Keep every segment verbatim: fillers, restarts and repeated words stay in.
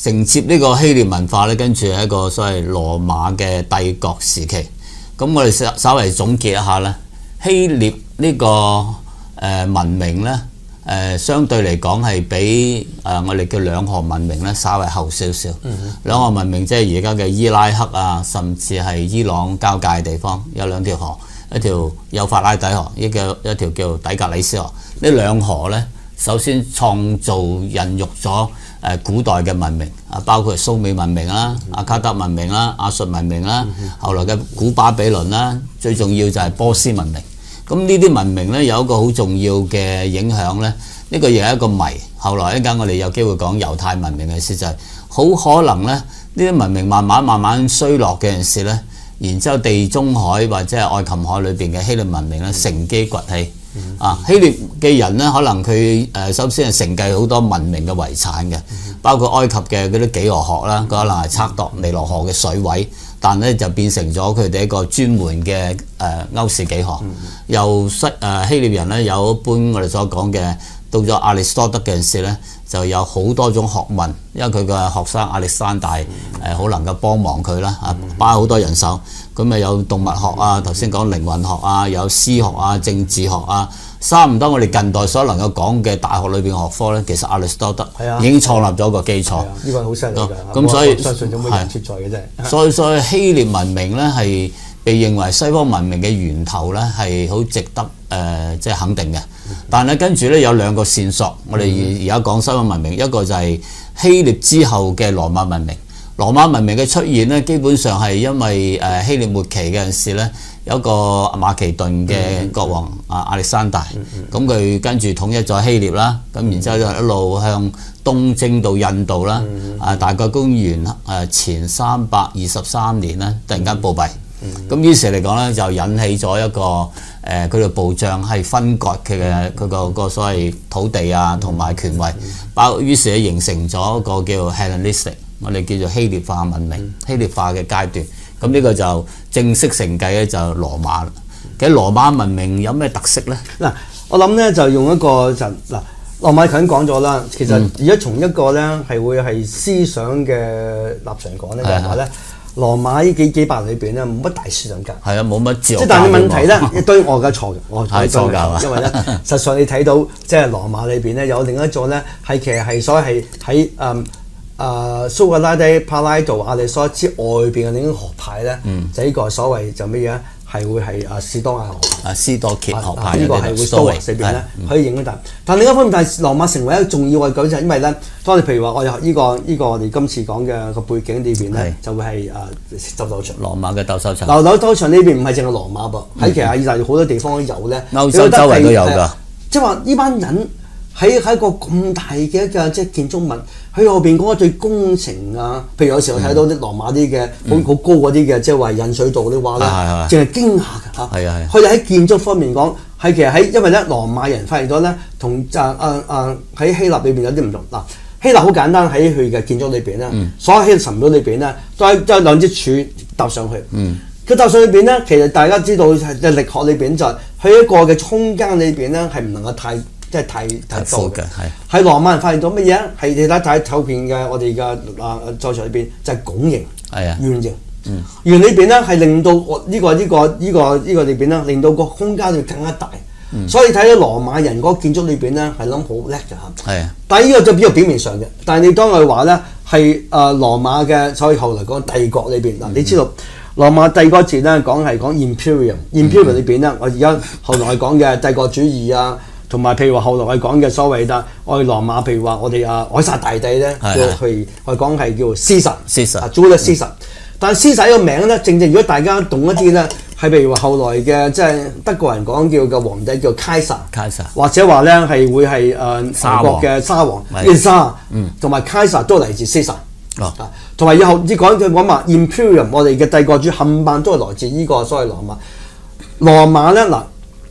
承接呢個希臘文化咧，跟住係一個所謂羅馬嘅帝國時期。咁我哋稍稍微總結一下咧，希臘呢個誒文明咧。誒、呃、相對嚟講係比誒、呃、我哋叫兩河文明咧稍為後少少。嗯、哼兩河文明即係而家嘅伊拉克啊，甚至係伊朗交界嘅地方有兩條河，一條幼發拉底河，一個一條叫底格里斯河。呢兩河咧，首先創造孕育咗誒古代嘅文明啊，包括蘇美文明啦、阿卡德文明啦、亞述文明啦，嗯、哼後來嘅古巴比倫啦，最重要就係波斯文明。咁呢啲文明咧有一個好重要嘅影響咧，呢、這個亦係一個謎。後來一陣我哋有機會講猶太文明嘅事，就係、是、好可能咧，呢啲文明慢慢慢慢衰落嘅陣時咧，然之後地中海或者係愛琴海裏邊嘅希臘文明咧乘機崛起。嗯、啊，希臘嘅人咧可能佢誒首先係承繼好多文明嘅遺產嘅，包括埃及嘅嗰啲幾何學啦，可能係測度尼羅河嘅水位。但咧就變成咗佢哋一個專門嘅誒歐氏幾何，嗯、由西誒希臘人咧有一般我哋所講嘅，到咗亞里士多德嘅陣時咧，就有好多種學問，因為佢嘅學生亞歷山大誒好能夠幫忙佢啦，啊包好多人手，咁咪有動物學啊，頭先講靈魂學啊，有詩學啊、政治學啊。差唔多我哋近代所能夠講嘅大學裏邊學科咧，其實亞里士多德已經創立咗個基礎。 呢個好犀利㗎。 咁所以相信有冇人存在嘅啫。 所以所以希臘文明咧係被認為西方文明嘅源頭咧係好值得誒即係肯定嘅。但係咧跟住咧有兩個線索，我哋而家講西方文明，一個就係希臘之後嘅羅馬文明。羅馬文明嘅出現咧，基本上係因為誒希臘末期嘅陣時咧。有一個馬其頓嘅國王啊亞歷山大，咁佢跟住統一咗希臘啦，咁然之後就一路向東征到印度啦，啊大概公元誒前三百二十三年咧，突然間暴斃，咁於是嚟講咧就引起咗一個誒佢哋部將係分割佢嘅佢個個所謂土地啊同埋權位，包於是咧形成咗一個叫 Hellenistic， 我哋叫做希臘化文明、希臘化嘅階段。咁呢個就正式承繼咧就羅馬啦。其實羅馬文明有咩特色咧？ 嗱，我諗咧就用一個就嗱，羅馬頭先講咗啦。其實而家從一個咧係會係思想嘅立場講咧，就係話咧羅馬呢幾幾百年裏邊咧冇乜大思想家。 係啊，冇乜自由。 即係但係問題咧，一堆我嘅錯嘅，我係錯㗎。 因為咧，實際你睇到即係羅馬裏邊咧有另一座咧係其實係所謂係喺誒。誒蘇格拉底、柏拉圖、亞里士多德之外邊嘅另一個學派咧，嗯、就呢個所謂就乜嘢係會係誒士多亞學派。啊，斯多歇學派呢個係會蘇維四邊咧可以影響到。但另一方面，但係羅馬成為一個重要嘅舉就係因為咧，當你譬如話我哋呢個呢個我哋今次講嘅個背景裏邊咧，就會係誒鬥獸場。羅馬嘅鬥獸場。嗱，鬥獸場呢邊唔係淨係羅馬噃，喺其實意大利好多地方都有咧。歐洲周圍都有㗎。即係話呢班人。喺喺個咁大嘅一個即係建築物，喺後邊嗰個對工程啊，譬如有時候睇到啲羅馬啲嘅好好高嗰啲嘅，即係話引水道啲話咧，淨係驚訝㗎嚇。係啊係。佢哋喺建築方面講，係其實喺因為咧羅馬人發現咗咧，同就啊啊喺希臘裏邊有啲唔同嗱。希臘好簡單喺佢嘅建築裏邊咧，嗯、所有希臘神廟裏邊咧，都係都係兩支柱搭上去。嗯。佢搭上裏邊咧，其實大家知道嘅力學裏邊就係佢一個嘅空間裏邊咧，係唔能夠太。即係太太多嘅，係喺羅馬人發現到乜嘢？係你睇睇後邊嘅我哋嘅啊在場裏邊就係拱形，係啊圓形，嗯圓裏邊咧係令到我呢個呢個呢個呢個裏邊咧令到個空間會更加大，嗯、所以睇到羅馬人嗰個建築裏邊咧係諗好叻嘅嚇，係啊！但係呢個就比較表面上嘅，但係你當佢話咧係誒羅馬嘅，所以後來講帝國裏邊嗱，嗯、你知道羅馬帝國字咧講係講 imperium，imperium 裏邊咧我而家後來講嘅帝國主義啊。同埋譬如話後來我哋講嘅所謂嘅我哋羅馬，譬如話我哋啊凱撒大帝咧，叫佢我哋講係叫 Caesar，Caesar，Julius Caesar。但係 Caesar 呢個名咧，正正如果大家懂一啲咧，係譬如話後來嘅即係德國人講叫嘅皇帝叫 Kaiser，或者話咧係會係誒俄國嘅沙皇叫沙，同埋 Kaiser 都嚟自 Caesar。啊，同埋以後啲講嘅講話 Imperium， 我哋嘅帝國主冚唪唥都係來自呢個所謂羅馬。羅馬咧嗱。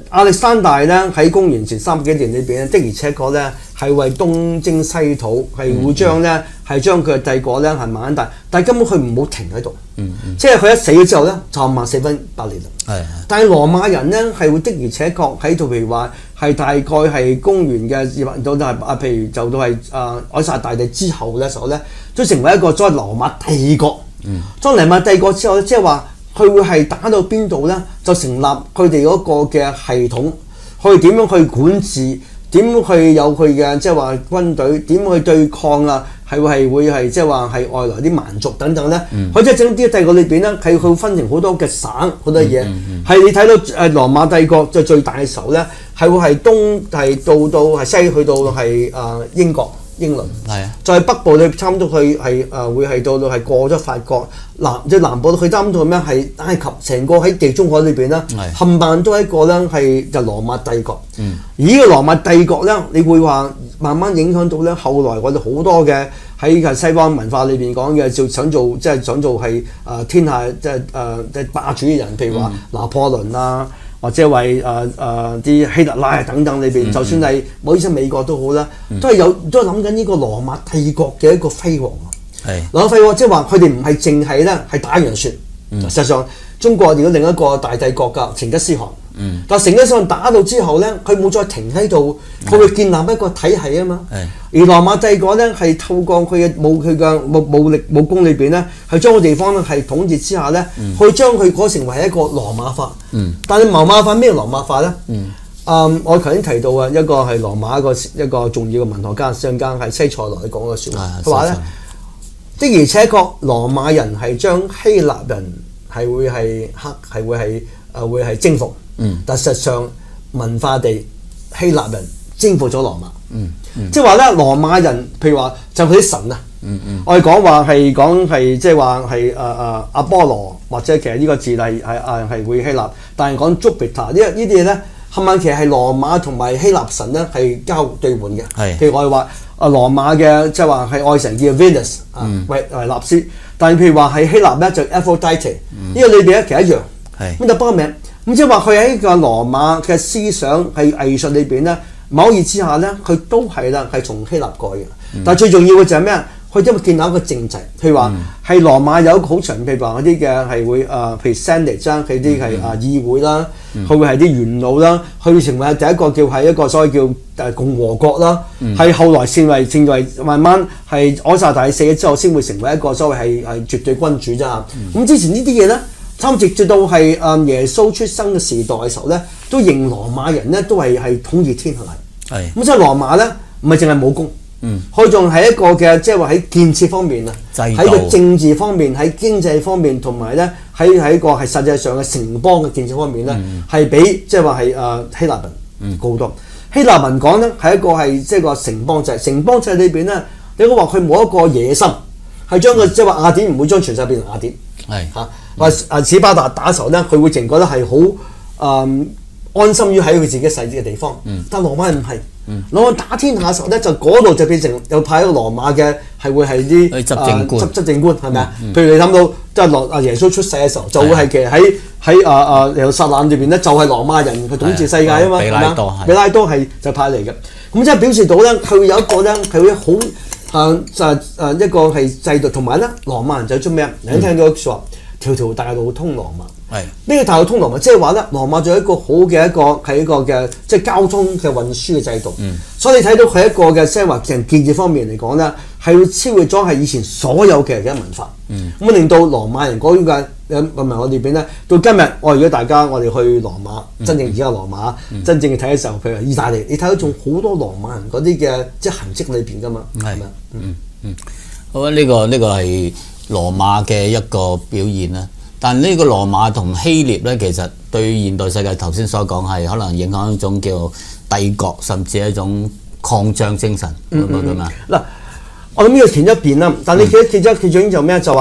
亞歷山大咧喺公元前三百幾年裏邊咧，的而且確咧係為東征西討，係會將咧係將佢嘅帝國咧係慢慢大，但係根本佢唔好停喺度，嗯嗯、即係佢一死咗之後咧就萬四分八裂啦。係，但係羅馬人咧係會的而且確喺度，譬如話係大概係公元嘅二百到都係啊，譬如就到係啊凱撒大帝之後嘅時候咧，都成為一個所謂羅馬帝國。嗯，當羅馬帝國之後咧，即係話。佢會係打到邊度咧？就成立佢哋嗰個嘅系統，去點樣去管治，點去有佢嘅即係話軍隊，點去對抗啊？係會係會係即係話係外來啲蠻族等等咧。佢即係整啲帝國裏邊咧，係佢分成好多嘅省，好多嘢。係、嗯嗯嗯、你睇到誒羅馬帝國就最大嘅時候咧，係會係東係到到係西去到係誒英國。英倫係啊，在北部你差唔多去係誒會係到到係過咗法國南即係南部去差唔多咩係埃及，成個喺地中海裏邊咧，冚唪唥都係一個咧係就羅馬帝國。嗯，而呢個羅馬帝國咧，你會話慢慢影響到咧後來我哋好多嘅喺西方文化裏邊講嘅，就想做即係想做係誒、呃、天下即係誒即係霸主嘅人，譬如話拿破崙啊。或者為誒誒啲希特拉等等裏邊，嗯、就算係唔好意思美國都好啦，嗯、都係有都係諗緊呢個羅馬帝國嘅一個輝煌啊！係羅馬帝國即係話佢哋唔係淨係咧係打洋船，嗯、實際上中國如果另一個大帝國㗎成吉思汗，嗯、但係成吉思汗打到之後咧，佢冇再停喺度，佢會建立一個體系啊嘛。嗯、而羅馬帝國咧係透過佢嘅武佢嘅武武力武功裏邊咧，係將個地方咧係統治之下咧，嗯、去將佢改成為一個羅馬化。嗯、但係羅馬化咩羅馬化咧？嗯，嗯，我頭先提到啊，一個係羅馬一個一個重要嘅文學家，上間係西塞羅講嘅説話，佢話咧的而且確羅馬人係將希臘人係會係黑係會係誒會係征服。嗯，但實際上文化地希臘人征服咗羅馬。嗯，嗯即係話咧羅馬人譬如話就佢啲神啊。嗯嗯，我哋講話係講係即係話係誒誒阿波羅或者其實呢個字係係誒係會希臘，但係講 Jupiter 呢呢啲嘢咧，冚唪唥其實係羅馬同埋希臘神咧係交兌換嘅。係，譬如我哋話啊羅馬嘅即係話係愛神叫 Venus 啊，維維納斯，但係譬如話係希臘咧就 Aphrodite，呢個裏邊咧其實一樣。係，咁就不過名，咁即係話佢喺個羅馬嘅思想係藝術裏邊咧，某意之下咧，佢都係啦係從希臘過嘅。但係最重要嘅就係咩啊？佢因為建立一個政制，譬如話係羅馬有一個好長，譬如話嗰啲嘅係會誒，譬如 Senate 啦，佢啲係啊議會啦，佢會係啲元老啦，佢會成為第一個叫係一個所謂叫誒共和國啦，係、嗯、後來成為成為慢慢係凱撒大帝死咗之後，先會成為一個所謂係係絕對君主啫嚇。咁、嗯、之前呢啲嘢咧，差唔多直至到係誒耶穌出生嘅時代嘅時候咧，都認羅馬人咧都係係統治天下嚟。係咁，所以羅馬咧唔係淨係武功。嗯，佢仲係一個嘅，即係話喺建設方面啊，喺個政治方面、喺經濟方面，同埋咧喺喺個係實際上嘅城邦嘅建設方面咧，係、嗯、比即係話係誒希臘人高多。嗯、希臘人講咧係一個係即係個城邦制，城邦制裏邊咧，你講話佢冇一個野心，係將個即係話雅典唔會將全世界變成雅典，係嚇話啊史巴達打嘅時候咧，佢會淨覺得係好誒安心於喺佢自己細啲嘅地方，嗯、但羅馬人唔係。攞、嗯、打天下嘅時候咧，就嗰度就變成又派一個羅馬嘅係會係啲執政官，執執政官係咪啊？譬如你諗到即係羅阿耶穌出世嘅時候，就會係其實喺喺啊啊耶路撒冷裏邊咧，就係羅馬人去統治世界啊嘛。比拉多係，比拉多係就派嚟嘅。咁即係表示到咧，佢有一個咧係會好啊就啊一個係制度，同埋咧羅馬人就做咩啊？你聽到説話，條條大路通羅馬。係呢個大路通羅馬，即係話咧，羅馬仲有一個好嘅一個係一個嘅即係交通嘅運輸嘅制度。嗯，所以你睇到佢一個嘅即係話成建設方面嚟講咧，係會超越咗係以前所有嘅嘅文化。嗯，咁令到羅馬人嗰種嘅誒文明我哋邊咧，到今日我如果大家我哋去羅馬，嗯、真正而家羅馬，嗯、真正嘅睇嘅時候，譬如意大利，你睇到仲好多羅馬人嗰啲嘅即係痕跡裏邊噶嘛。係咪？嗯嗯，好啊！呢、這個呢、這個係羅馬嘅一個表現啦。但呢個羅馬同希臘咧，其實對現代世界頭先所講係可能影響一種叫帝國，甚至係一種擴張精神，明唔明啊？嗱，我諗呢個前一邊啦，但你記得記得其中就咩就話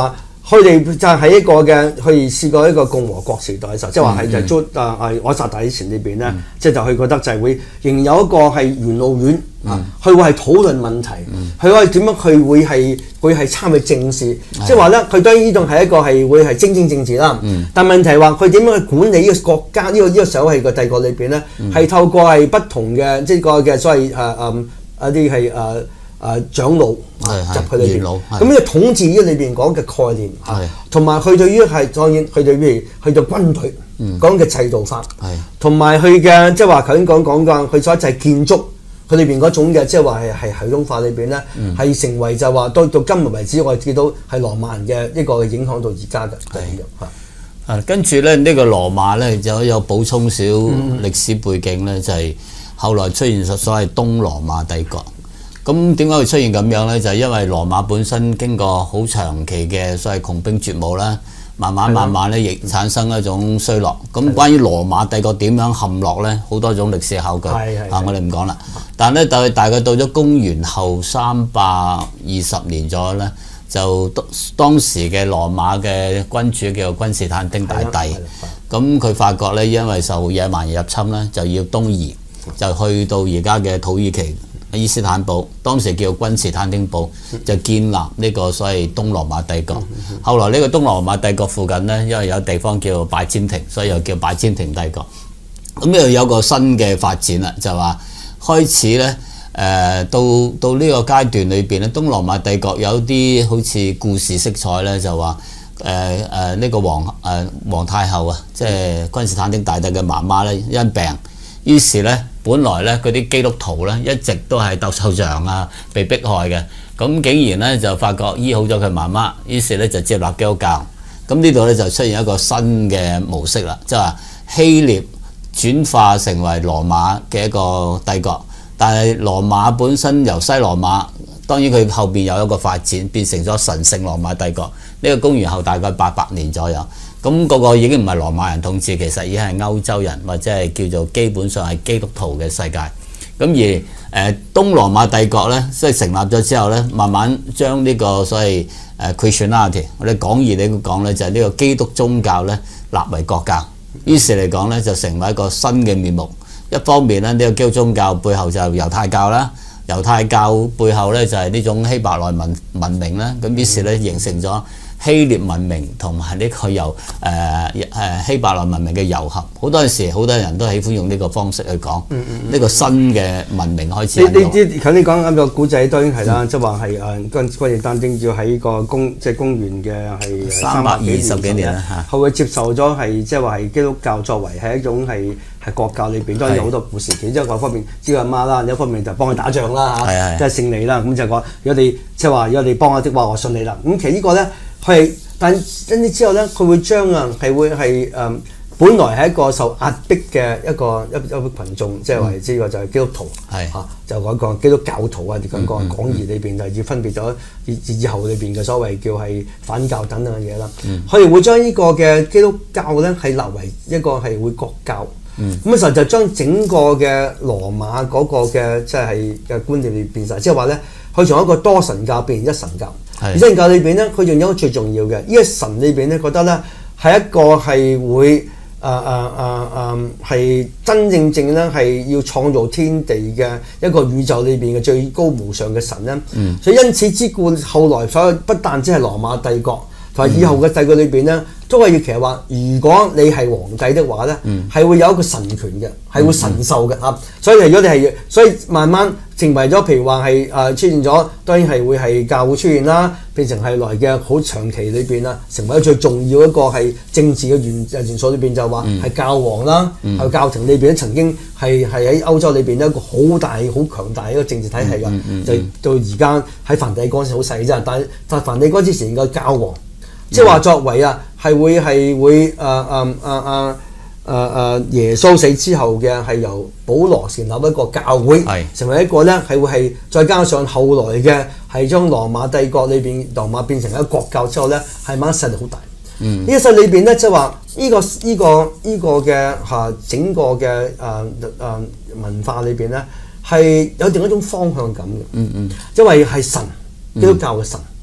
佢哋就喺一個嘅，佢哋試過一個共和國時代嘅時候，即係話係就係租啊啊凱撒大之前裏邊咧，即係就佢覺得就係會仍有一個係元老院啊，佢會係討論問題，佢可以點樣佢會係會係參與政事，即係話咧，佢當然呢種係一個係會係精英政治啦。但問題係話佢點樣去管理呢個國家呢個呢個所謂嘅帝國裏邊咧，係透過係不同嘅即係個嘅所謂誒誒一啲係誒。誒長老入去裏邊，咁呢個統治呢個裏邊講嘅概念嚇，同埋佢對於係當然佢對譬如去到軍隊講嘅制度法，同埋佢嘅即係話頭先講講嘅佢所就係建築佢裏邊嗰種嘅即係話係係系統化裏邊咧，係成為就話到到今日為止，我哋見到係羅馬人嘅一個影響到而家嘅係咁樣嚇。跟住咧呢個羅馬咧就有補充少歷史背景咧，就係後來出現咗所謂東羅馬帝國。咁點解會出現咁樣呢？就係、是、因為羅馬本身經過好長期嘅所謂窮兵黷武啦，慢慢慢慢咧亦產生一種衰落。咁關於羅馬帝國點樣陷落呢？好多種歷史考據啊，我哋唔講啦。但係咧，大大概到咗公元後三百二十年左右呢，就當時嘅羅馬嘅君主叫做君士坦丁大帝。咁佢發覺呢，因為受野蠻人入侵呢，就要東移，就去到而家嘅土耳其。伊斯坦堡當時叫君士坦丁堡，就建立呢個所謂東羅馬帝國。後來呢個東羅馬帝國附近呢，因為有地方叫拜占庭，所以又叫拜占庭帝國。咁又有個新嘅發展啦，就話開始呢，誒、呃、到到呢個階段裏邊咧，東羅馬帝國有啲好似故事色彩呢，就話誒誒呢個皇誒、呃、皇太后啊，即係君士坦丁大帝嘅媽媽呢，因病，於是呢。本來咧嗰啲基督徒咧一直都係鬥獸場啊，被迫害嘅，咁竟然咧就發覺醫好咗佢媽媽，於是咧就接納基督教。咁呢度咧就出現一個新嘅模式啦，即係話希臘轉化成為羅馬嘅一個帝國，但係羅馬本身由西羅馬，當然佢後邊有一個發展，變成咗神聖羅馬帝國。呢、這個公元後大概八百年左右。咁、那、嗰個已經唔係羅馬人統治，其實已經係歐洲人或者係叫做基本上係基督徒嘅世界。咁而誒、呃、東羅馬帝國咧，即係成立咗之後咧，慢慢將呢個所謂誒 Christianity，我哋廣義嚟講咧，就係呢個基督宗教咧立為國教。於是嚟講咧，就成為一個新嘅面目。一方面咧，呢、這個基督宗教背後就係猶太教啦，猶太教背後咧就係呢種希伯來文文明啦。咁於是咧形成咗希臘文明同埋呢個由誒誒希伯來文明嘅糅合，好多時好多人都喜歡用呢個方式去講呢、嗯嗯嗯、個新嘅文明開始。你你知頭先講啱個古仔當然係啦，即係話係誒君君士坦丁要喺個公即係公元嘅係三百二十幾年啦， 後佢接受咗係即係話係基督教作為係一種係係國教裏邊，當然有好多故事。其中一個方面知道阿媽啦，另一方面就幫佢打仗啦嚇，即係勝利啦。咁就講如果你即係話如果你幫我的話，我信你啦。咁其實呢個咧。係，但跟住之後咧，佢會將啊係會係誒、嗯，本來係一個受壓迫嘅一個一一個羣眾，即係話呢個就係基督徒，係嚇、嗯、就講講基督教徒啊，講講廣義裏邊就係要分別咗以以後裏邊嘅所謂叫係反教等等嘅嘢啦。佢哋、嗯、會將呢個嘅基督教咧係立為一個係會國教，咁嘅時候就將整個嘅羅馬嗰個嘅即係嘅觀念變晒，即係話咧，佢從一個多神教變成一神教。而神教裏邊咧，佢仲有一個最重要嘅，呢個神裏邊咧覺得咧係一個係會誒誒誒誒係真正正咧係要創造天地嘅一個宇宙裏邊嘅最高無上嘅神咧。嗯、所以因此之故，後來所有不但只係羅馬帝國，同埋以後嘅帝國裏邊咧，都係要其實話，如果你係皇帝的話咧，係、嗯、會有一個神權嘅，係會神授嘅嚇。嗯、所以如果你係，所以慢慢成為咗，譬如話係誒出現咗，當然係會係教會出現啦，變成係來嘅好長期裏邊啦，成為咗最重要一個係政治嘅元元素裏邊就話係教皇啦，係、嗯、教廷裏邊曾經係係喺歐洲裏邊一個好大好強大一個政治體系㗎，嗯嗯嗯、就到而家喺梵蒂岡時好細啫，但係但係梵蒂岡之前嘅教皇，即係話作為啊係會係會誒誒誒誒。誒誒、呃、耶穌死之後嘅係由保羅成立一個教會，是成為一個咧係會係再加上後來嘅係將羅馬帝國裏邊羅馬變成一個國教之後咧係慢慢勢力好大。嗯，呢個勢力裏邊咧即係話呢個呢、這個呢、這個嘅嚇整個嘅誒誒文化裏邊咧係有另一種方向感嘅。嗯嗯，因為係神基督教嘅神。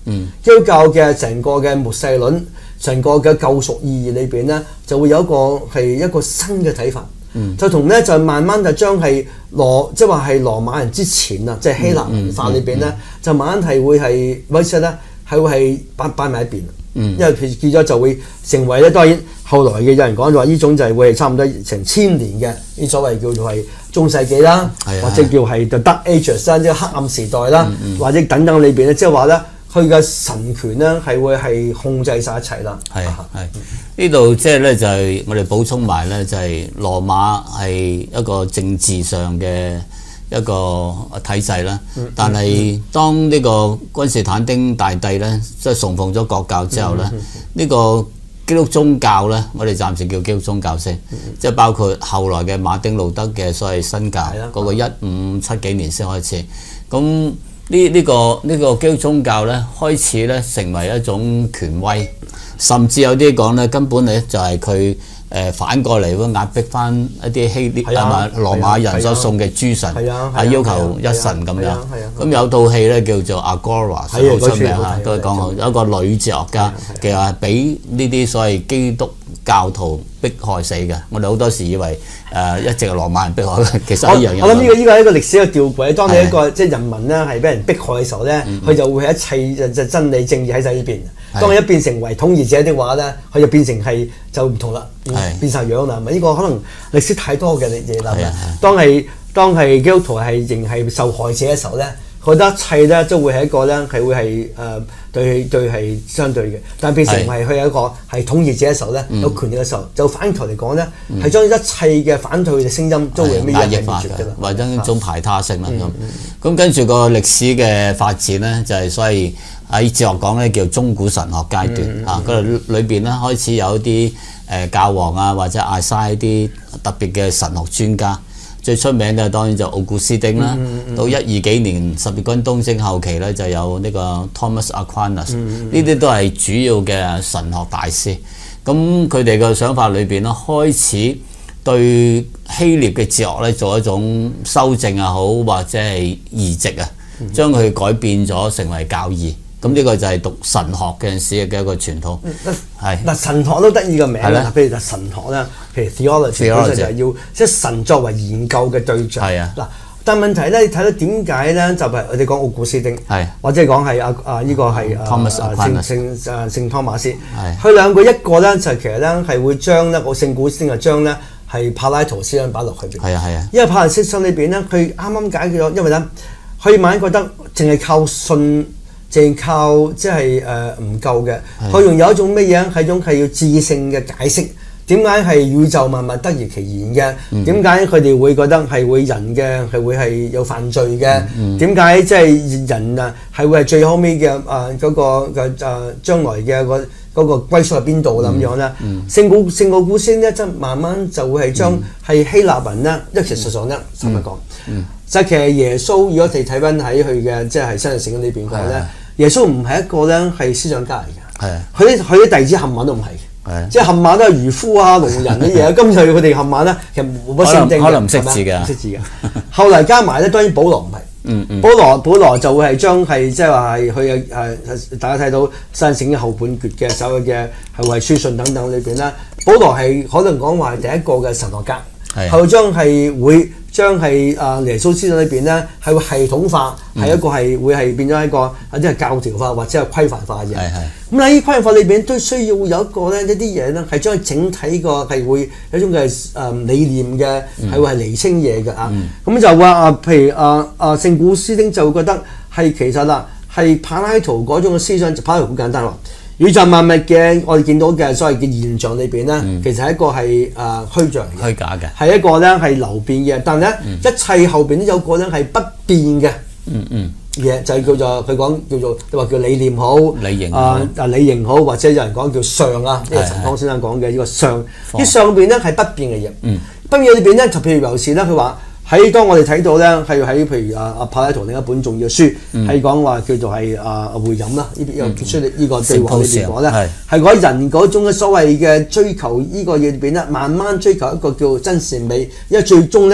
嗯、基督教嘅成個嘅末世論、成個嘅救贖意義裏邊咧，就會有一個係一個新嘅睇法。嗯、就同咧就慢慢就將係羅即係話係羅馬人之前啊，即係希臘文化裏邊咧，就慢慢係會係威勢咧係會係擺擺埋一邊。嗯、因為佢結咗就會成為咧，當然後來嘅有人講就話呢種就係會係差唔多成千年嘅呢所謂叫做係中世紀啦，嗯、或者叫係 The Dark Ages 啦，即係黑暗時代啦，嗯嗯、或者等等裏邊咧，即係話咧佢嘅神權咧係會係控制晒一切啦。係係呢度即係咧就係我哋補充埋咧，就係羅馬係一個政治上嘅一個體制啦，但係當呢個君士坦丁大帝咧，即係崇奉咗國教之後咧，呢、嗯、個基督宗教咧，我哋暫時叫基督宗教先，嗯、即係包括後來嘅馬丁路德嘅所謂新教，嗰、嗯、個一五七幾年先開始。咁呢呢個呢、這個基督宗教咧，開始咧成為一種權威，甚至有啲講咧，根本咧就係佢。誒反過嚟會壓迫翻一啲希臘係嘛羅馬人所送嘅諸神，係要求一神咁樣。咁有套戲咧叫做 Agora， 好出名嚇，都係講有一個女哲學家，其實係俾呢啲所謂基督教徒迫害死嘅。我哋好多時以為誒一直係羅馬人迫害，其實一樣嘢。 我諗呢個呢個係一個歷史嘅吊詭。當你一個即係人民咧係俾人迫害嘅時候咧，佢就會係一切就真理正義喺晒呢邊。當佢一變成為統治者的話咧，佢就變成係就唔同啦，變變曬樣啦。咪呢個可能歷史太多嘅嘢啦。當係當係基督徒係仍係受害者嘅時候咧，覺得一切咧都會係一個咧係會係誒、呃、對對係相對嘅。但係變成係佢係一個係統治者嘅時候咧，嗯、有權力嘅時候，就反頭嚟講咧，係將、嗯、一切嘅反對嘅聲音都會咩嘢係滅絕㗎啦，或者一種排他性啦咁。咁、嗯嗯、跟住個歷史嘅發展咧，就係、是、所以。喺哲學講咧叫中古神學階段啊，嗰度裏邊咧開始有一啲誒教皇啊或者亞西啲特別嘅神學專家，最出名嘅當然就奧古斯丁啦。嗯嗯、到一二幾年十字軍東征後期咧就有呢個 Thomas Aquinas，呢啲、嗯嗯、都係主要嘅神學大師。咁佢哋嘅想法裏邊咧開始對希臘嘅哲學咧做一種修正又好，或者係移植啊，將佢改變咗成為教義。咁呢個就係讀神學嘅陣時嘅一個傳統，係嗱神學都得意個名啦，譬如就神學啦，譬如 theology 本身就係要即係神作為研究嘅對象。係啊，嗱，但問題咧，你睇到點解咧？就係我哋講奧古斯丁，係或者係講係啊啊呢個係啊聖聖誒聖湯馬斯，佢兩個一個咧就其實咧係會將咧個聖古斯丁就將咧係柏拉圖思想擺落去邊。係啊係啊，因為柏拉圖思想裏邊咧，佢啱啱解決咗，因為咧佢慢慢覺得淨係靠信。淨靠即係誒唔夠嘅，佢用有一種乜嘢係一種係要智性嘅解釋，點解係宇宙萬物得而其然嘅？點解佢哋會覺得係會人嘅係會係有犯罪嘅？點解即係人啊係會係最後尾嘅誒嗰個嘅誒將來嘅個嗰個歸宿喺邊度啦咁樣咧？聖古聖奧古斯丁咧，即係慢慢就會係將係希臘文咧，一其實上咧，坦白講。就其實耶穌，如果你睇翻喺佢嘅即係新約聖經裏邊講咧，耶穌唔係一個咧係思想家嚟嘅，係佢啲佢啲弟子冚唪唥都唔係嘅，即係冚唪唥都係漁夫啊、農人啲嘢。今日佢哋冚唪唥咧，其實冇乜聖經嘅，可能唔識字嘅，唔識字嘅。後嚟加埋咧，當然保羅唔係，嗯嗯，保羅保羅就會係將係即係話係佢嘅誒，大家睇到新約聖經後半橛嘅所有嘅係為書信等等裏邊咧，保羅係可能講話係第一個嘅神學家，後將係會。將係啊耶穌思想裏邊咧係會系統化，係、嗯、一個係會係變咗一個一啲係教條化或者係規範化嘅嘢。咁喺呢規範化裏邊都需要有一個咧一啲嘢咧係將佢整體個係會有一種嘅誒理念嘅係會係釐清嘢嘅啊。咁、嗯、就話啊，譬如啊啊聖古斯丁就會覺得係其實啦係柏拉圖嗰種嘅思想，柏拉圖好簡單喎。宇宙萬物嘅我哋見到嘅所謂嘅現象裏邊咧，嗯、其實係一個係誒虛像嘅，虛假嘅，係一個咧係流變嘅。但係咧、嗯、一切後邊都有個咧係不變嘅，嗯嗯嘢就係叫做佢講叫做你話叫理念好，理型啊啊理型好，或者有人講叫相啊，呢個陳康先生講嘅呢個相，啲相邊咧係不變嘅嘢，嗯，不變裏邊咧就譬如尤其是咧佢話。喺當我哋睇到咧，係喺譬如啊啊柏拉圖另一本重要書，係講話叫做係啊會飲啦，呢邊又結出呢呢個對話裏邊講咧，係講人嗰種嘅所謂嘅追求呢個嘢裏邊咧，慢慢追求一個叫真善美，因為最終咧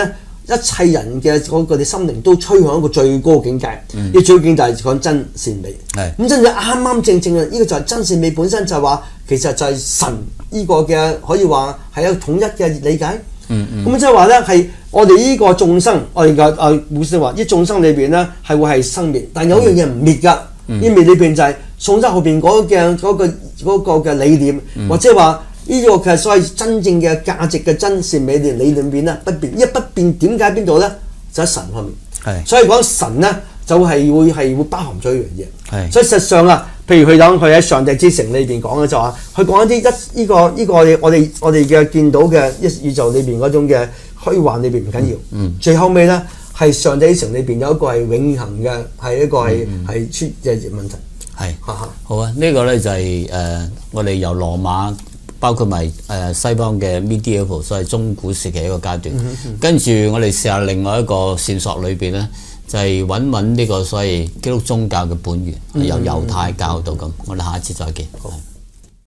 一切人嘅嗰個啲心靈都趨向一個最高境界。呢、嗯、最高境界就係講真善美。係咁真係啱啱正正啊！呢、這個就係真善美本身就係話，其實就係神呢個嘅可以話係一個統一嘅理解。嗯嗯。咁即係話咧，係我哋呢個眾生，我哋嘅啊古書話，呢眾生裏邊咧係會係生滅，但有一樣嘢唔滅㗎。呢滅裏邊就係宋真後邊嗰嘅嗰個嗰個嘅理念，嗯、或者話。呢個其實所謂真正嘅價值嘅真善美嘅理念邊咧不變，一不變點解邊度咧？就喺神方面。係，所以講神咧就係會係會包含咗一樣嘢。係，所以實際上啊，譬如佢講佢喺上帝之城裏邊講嘅就話，佢講一啲一呢個呢個我哋我哋嘅見到嘅一宇宙裏邊嗰種嘅虛幻裏邊唔緊要。嗯。最後尾咧係上帝之城裏邊有一個係永恆嘅係一個係係出嘅問題。係。好啊，呢個咧就係誒我哋由羅馬。包括埋誒西方嘅 medieval 所謂中古時期一個階段，嗯嗯、跟住我哋試下另外一個線索裏邊咧，就係揾揾呢個所謂基督宗教嘅本源，嗯、由猶太教到咁。我哋下一次再見。好。